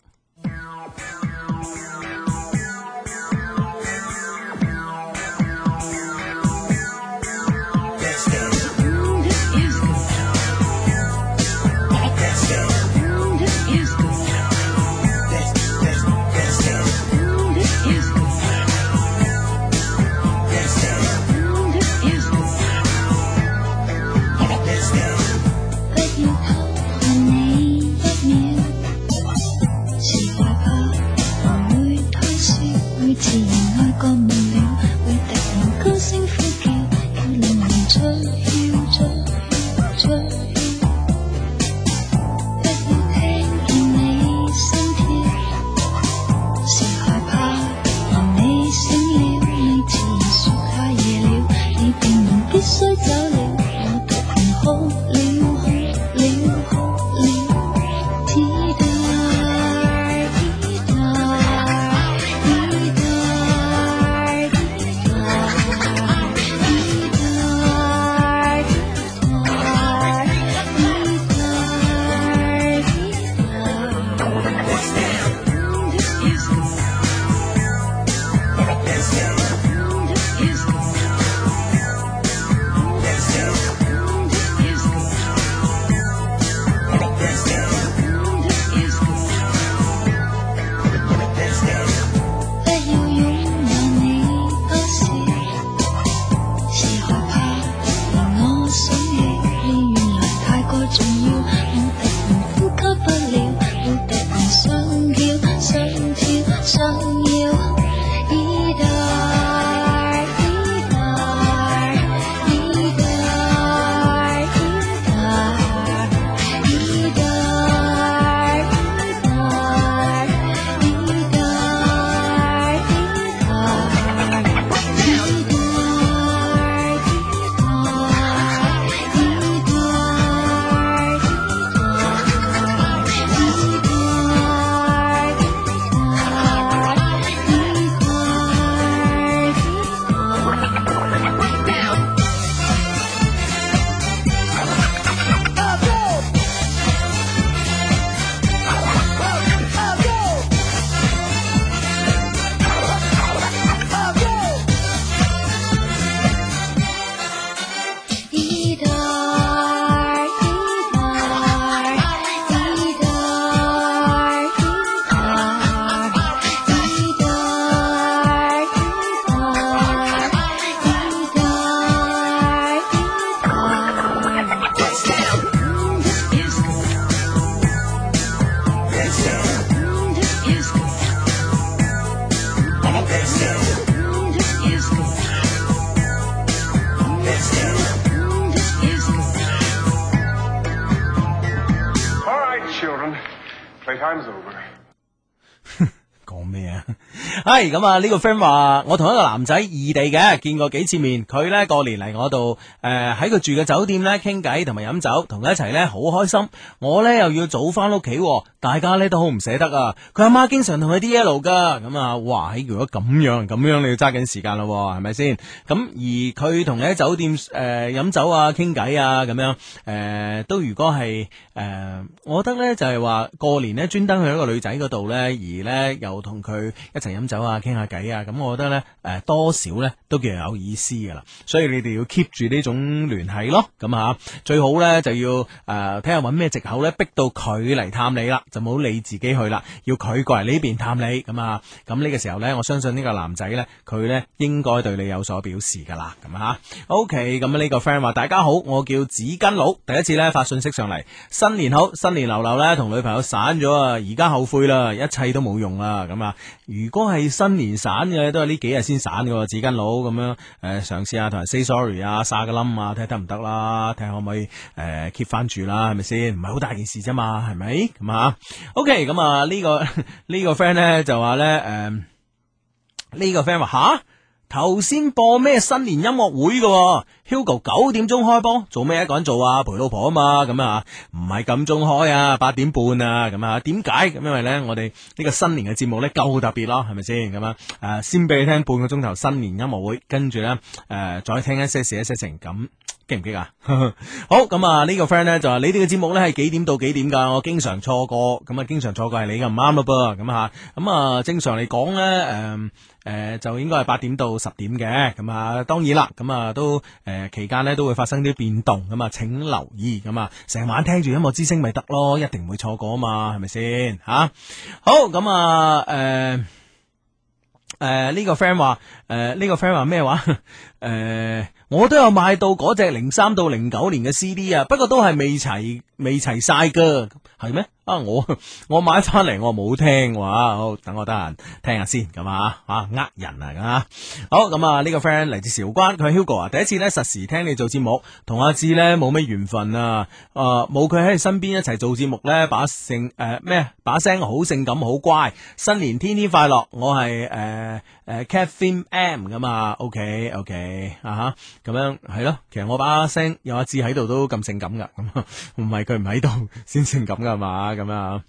講咩啊？係咁啊！呢個 friend 話我同一個男仔異地嘅，見過幾次面。佢呢過年嚟我度，喺佢住嘅酒店呢傾偈同埋飲酒，同佢一齊呢好開心。我呢又要早翻屋企，大家呢都好唔捨得啊！佢阿媽經常同佢 DL 噶，咁啊，哇！如果咁樣你要揸緊時間咯，係咪先？咁而佢同你喺酒店飲酒啊、傾偈啊咁樣，都如果係我覺得呢就係話過年呢專登去一個女仔嗰度呢，而呢又同佢一齊飲酒啊、傾下偈啊，咁我覺得呢多少呢都叫有意思噶啦，所以你哋要 keep 住呢種聯繫咯，咁啊最好呢就要睇下揾咩藉口呢逼到佢嚟探你啦，就冇你自己去啦，要佢過嚟呢邊探你，咁啊咁呢個時候呢，我相信呢個男仔呢，佢呢應該對你有所表示噶啦，咁啊 OK， 咁呢個 friend 話大家好，我叫紙巾佬，第一次呢發信息上嚟，新年好，新年流流呢同女朋友散咗啊，而家後悔啦，一切都冇用啦，咁啊如果係新年散嘅都係呢幾日先散嘅，紙巾佬咁樣嘗試下同人 say sorry 啊，撒個冧啊，睇下得唔得啦，睇下可唔可以keep 翻住啦，係咪先？唔係好大件事啫嘛，係咪？咁啊 OK， 咁啊呢個 friend 咧就話咧呢個 friend 話吓頭先播咩新年音樂會嘅 Hugo 9點鐘開波，做咩一個人做啊？陪老婆啊嘛，咁啊唔係咁鐘開啊，8點半啊，咁啊點解？咁因為咧我哋呢個新年嘅節目咧夠特別咯，係咪先？咁啊先俾你聽半個鐘頭新年音樂會，跟住咧再聽一些事一些情，咁激唔激啊？好，咁啊呢個 friend 咧就話你哋嘅節目咧係幾點到幾點噶？我經常錯過，咁啊經常錯過係你嘅唔啱咯噃，咁啊正常嚟講咧就應該係8點到10點嘅，咁啊當然啦，咁啊都期間咧都會發生啲變動，咁啊請留意，咁啊成晚聽住音樂之聲咪得咯，一定唔會錯過啊嘛，係咪先吓？好，咁啊呢個 friend 話咩話？我都有買到嗰隻03到09年嘅 CD 啊，不過都係未齊晒噶，係咩？啊我買翻嚟我冇聽話，好等我得閒聽下先，咁呃人啊，好咁啊呢個 friend 嚟自韶關，佢係 Hugo 啊，第一次咧實時聽你做節目，同阿志咧冇咩緣分啊，冇佢喺你身邊一齊做節目咧，把聲好性感好乖，新年天天快樂，我係Catherine M 咁啊 OK 啊咁樣係咯，其實我把聲有阿志喺度都咁性感噶，咁唔係佢唔喺度先性感噶嘛，咁啊。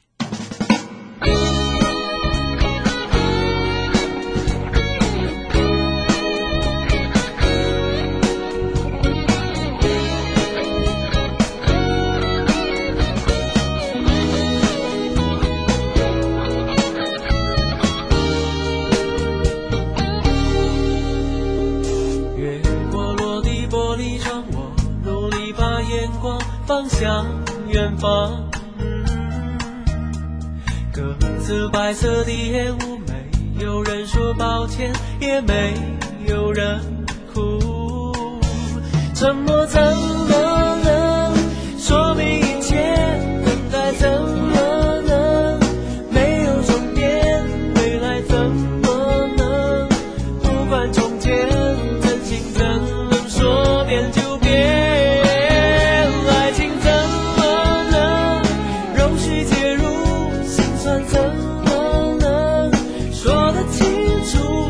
方向遠方，各自白色的煙霧，沒有人說抱歉，也沒有人哭，沉默怎麼能說明一切，等待怎麼能沒有終點，未來怎麼能不管從前，真心怎能說變就變，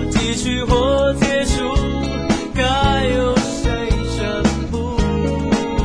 或結束，該由誰宣布？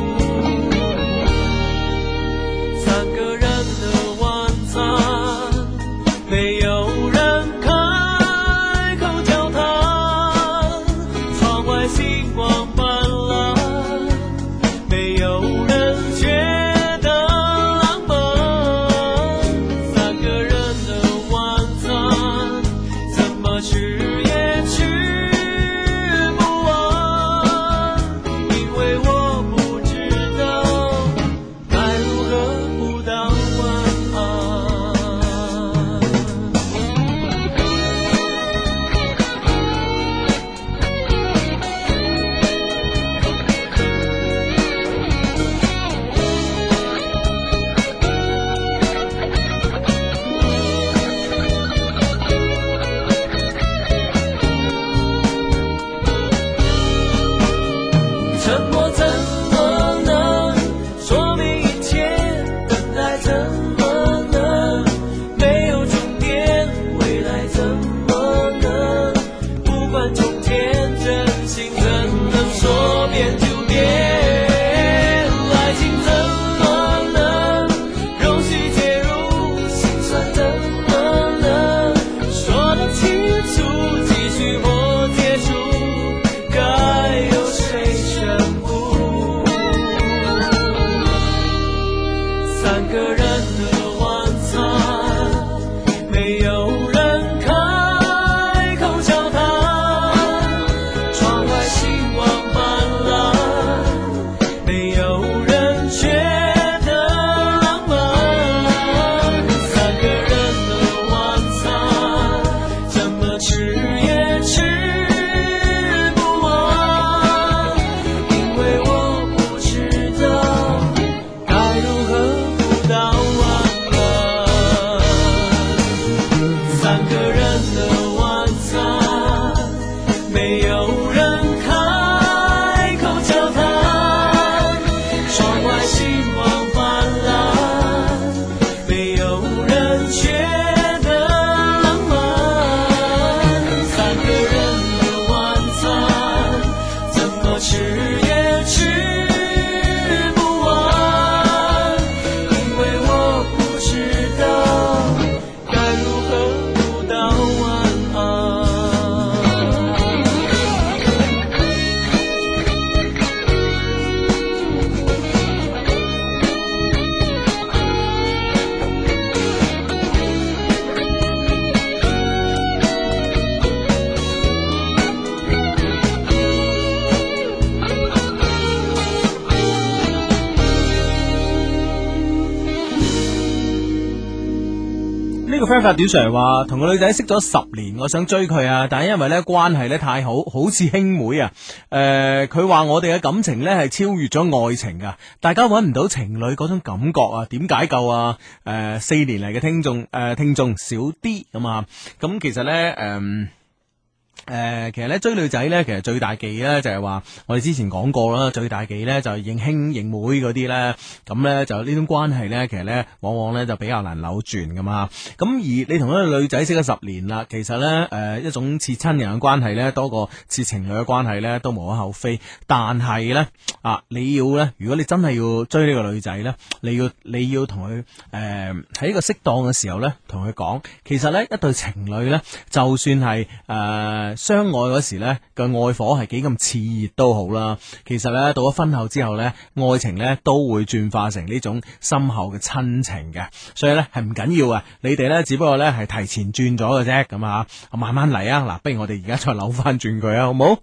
呢個 friend 發短信嚟話，同個女仔識咗10年，我想追佢啊，但係因為咧關係咧太好，好似兄妹啊。佢話我哋嘅感情咧係超越咗愛情噶，大家揾唔到情侶嗰種感覺啊，點解救啊？4年嚟嘅聽眾少啲咁啊，咁其實咧其實咧追女仔咧，其實最大忌咧就係話，我哋之前講過啦，最大忌咧就係認兄認妹嗰啲咧，咁咧就呢種關係咧，其實咧往往咧就比較難扭轉噶嘛。咁而你同一個女仔識咗10年啦，其實咧一種似親人嘅關係咧，多過似情侶嘅關係咧，都無可厚非。但係咧你要咧，如果你真係要追呢個女仔咧，你要同佢喺一個適當嘅時候咧，同佢講，其實咧一對情侶咧，就算係相愛嗰時咧嘅愛火係幾咁熾熱都好啦，其實咧到咗婚後之後咧，愛情咧都會轉化成呢種深厚嘅親情嘅，所以咧係唔緊要啊，你哋咧只不過咧係提前轉咗嘅啫，咁啊慢慢嚟啊，嗱，不如我哋而家再扭翻轉佢啊，好唔好？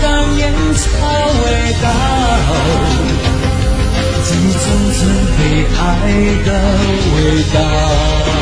曾被爱的味道。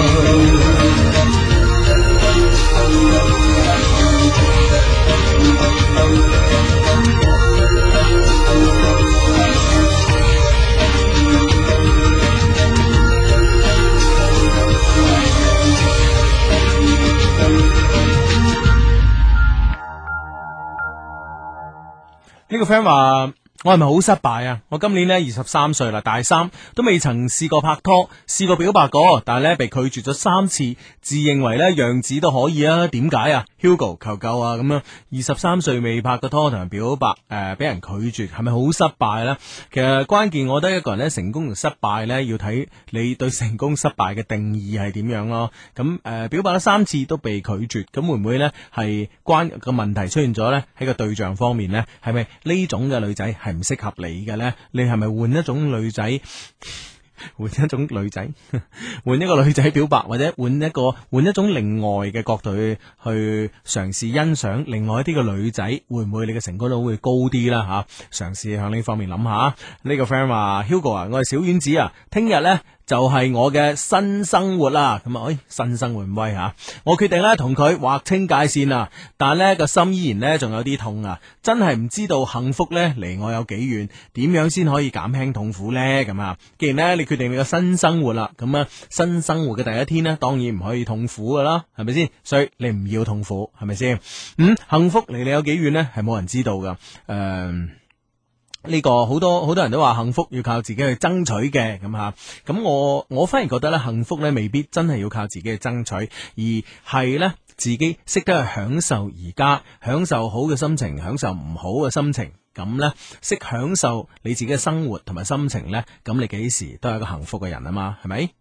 呢個 friend 話我係咪好失敗啊？我今年呢23歲啦，大三都未曾試過拍拖，試過表白過，但係咧被拒絕咗3次，自認為咧樣子都可以啊？點解啊 ？Hugo 求救啊！咁樣23歲未拍過拖同人表白，俾人拒絕，係咪好失敗呢？其實關鍵，我覺得一個人咧成功同失敗咧，要睇你對成功失敗嘅定義係點樣咯。咁表白咗3次都被拒絕，咁會唔會咧係關個問題出現咗咧？喺個對象方面咧，係咪呢種嘅女仔係唔適合你嘅咧？你係咪換一種女仔？換一種女仔，換一個女仔表白，或者換一種另外嘅角度去嘗試欣賞另外一啲嘅女仔，會唔會你嘅成功率會高啲啦？吓，嘗試向呢方面諗下。呢個 friend 話 Hugo 啊，我係小丸子啊，聽日呢就係我嘅新生活啦。咁啊，新生活唔威吓，我決定咧同佢劃清界線啊，但係呢個心依然呢仲有啲痛啊，真係唔知道幸福呢離我有幾遠，點樣先可以減輕痛苦呢？咁啊，既然呢你決定你嘅新生活啦，咁啊新生活嘅第一天呢，當然唔可以痛苦噶啦，係咪先？所以你唔要痛苦，係咪先？幸福離你有幾遠呢？係冇人知道噶。呢個好多人都話幸福要靠自己去爭取嘅，咁吓，咁我反而覺得咧，幸福咧未必真係要靠自己去爭取，而係咧自己識得去享受而家，享受好嘅心情，享受唔好嘅心情，咁咧識享受你自己嘅生活同埋心情咧，咁你幾時都係一個幸福嘅人啊嘛，係咪？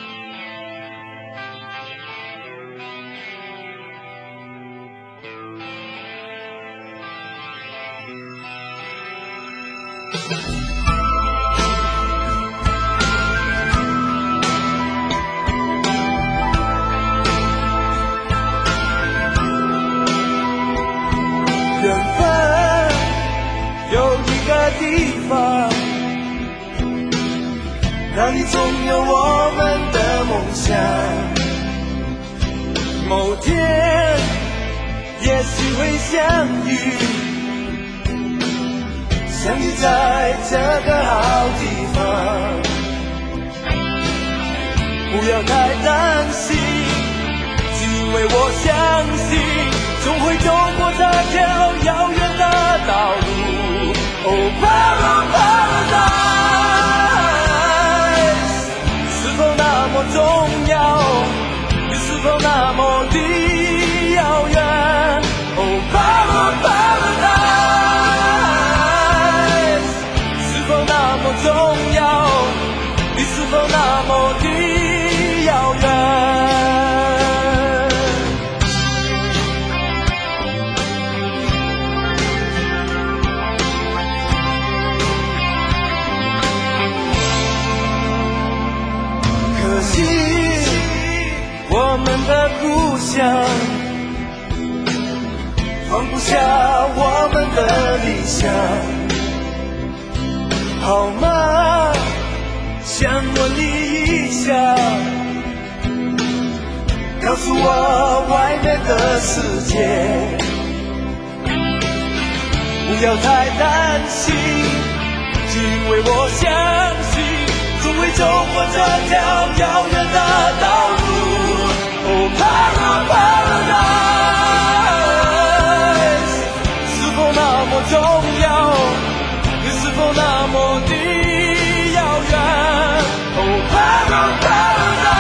那里总有我们的梦想，某天也许会相遇，相遇在这个好地方。不要太担心，因为我相信总会走过这条遥远的道路。Oh Paradise，那么重要，你是否那么的遥远 ？Oh Paradise， 是否那么重要，你是否那么的遥远？我们的故乡放不下我们的理想，好吗？想问你一下，告诉我外面的世界，不要太担心，因为我相信总会走过这条遥远的道路。Oh Paradise， 是否那么重要？你是否那么的遥远 ？Oh Paradise，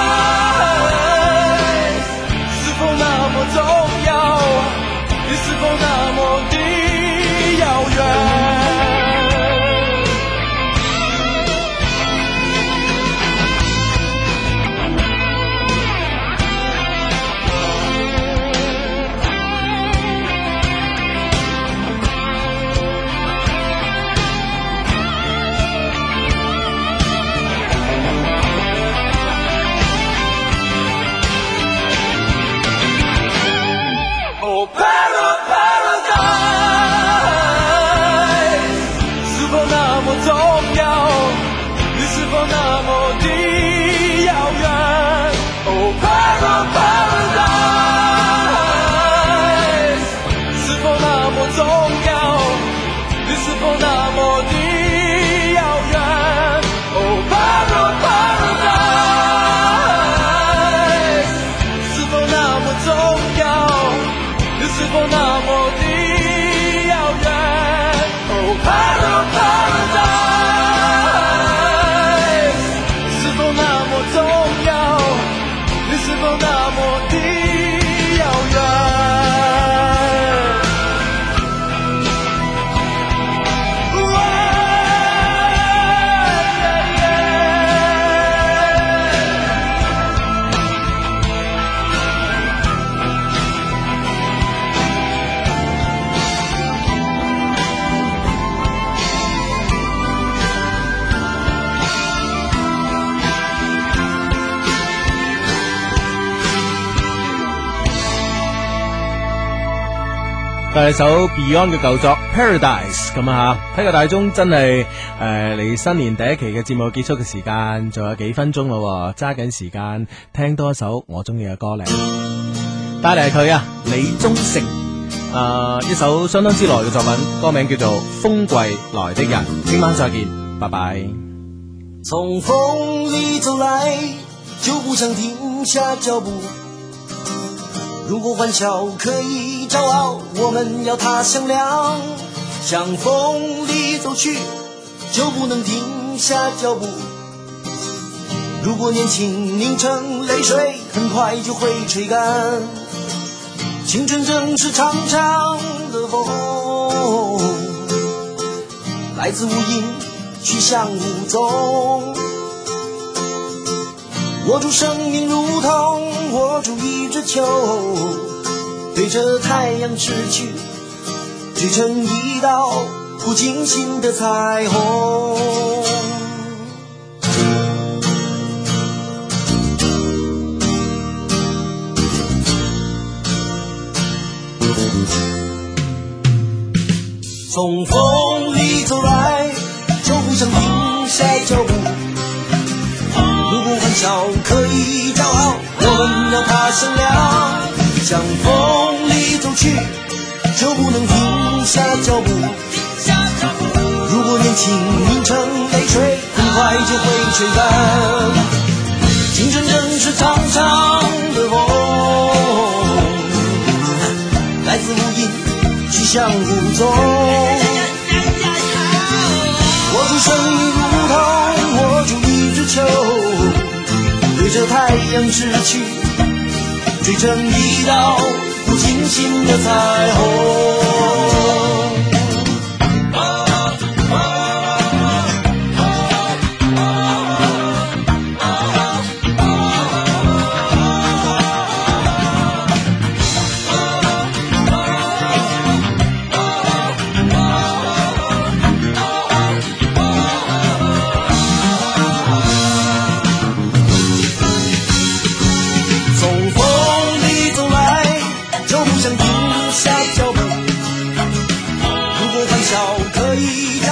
是否那么重要？你是否那么的遥远？ Oh 係首 Beyond 嘅舊作 Paradise 咁啊，睇個大鐘真係離新年第一期嘅節目結束嘅時間仲有幾分鐘咯，揸緊時間聽多一首我中意嘅歌嚟，帶嚟佢啊李宗盛一首相當之耐嘅作品，歌名叫做風季來的人。聽晚再見，拜拜。 從風裏走來就不想停下腳步，如果歡笑可以驕傲，我們要它響亮，向風裏走去就不能停下腳步，如果年輕凝成淚水很快就會吹乾，青春正是長長的風，來自無影去向無蹤，握住生命如同握住一隻球，對着太陽逝去，追成一道不經心的彩虹。從風裏走來就不想停下腳步，如果歡笑可以驕傲，我們要它響亮，向風裏走去就不能停下腳步，如果年輕凝成淚水很快就會吹乾，青春正是長長的夢，來自無影去向無蹤，握住生命如同握住一隻球，對着太陽逝去，追成一道不經心的彩虹。可以